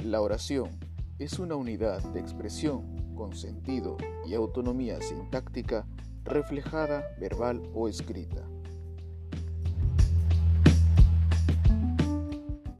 La oración es una unidad de expresión con sentido y autonomía sintáctica reflejada verbal o escrita.